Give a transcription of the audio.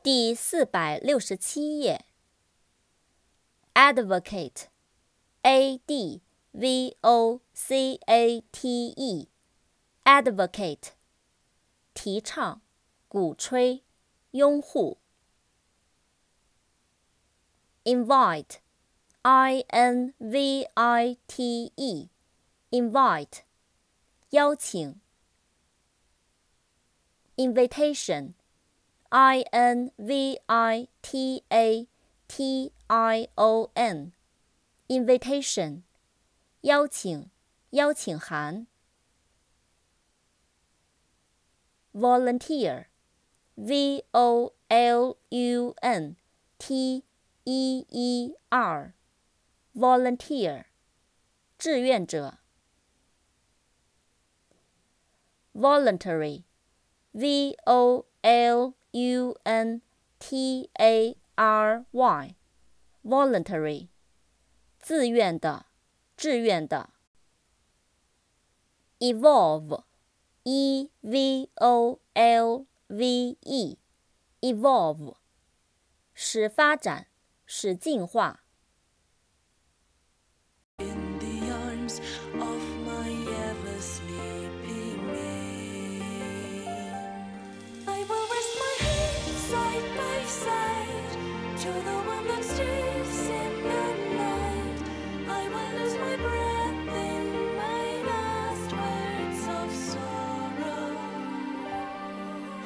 第467页。Advocate, A-D-V-O-C-A-T-E, Advocate, 提倡、鼓吹、拥护。Invite, I-N-V-I-T-E, Invite, 邀请。Invitation, I-N-V-I-T-A-T-I-O-N, Invitation, 邀请、邀请函。Volunteer, V-O-L-U-N-T-E-E-R, Volunteer, 志愿者。Voluntary, V-O-L-U-N-T-A-R-Y, Voluntary, 自愿的、志愿的。Evolve, E-V-O-L-V-E, Evolve, 使发展、使进化。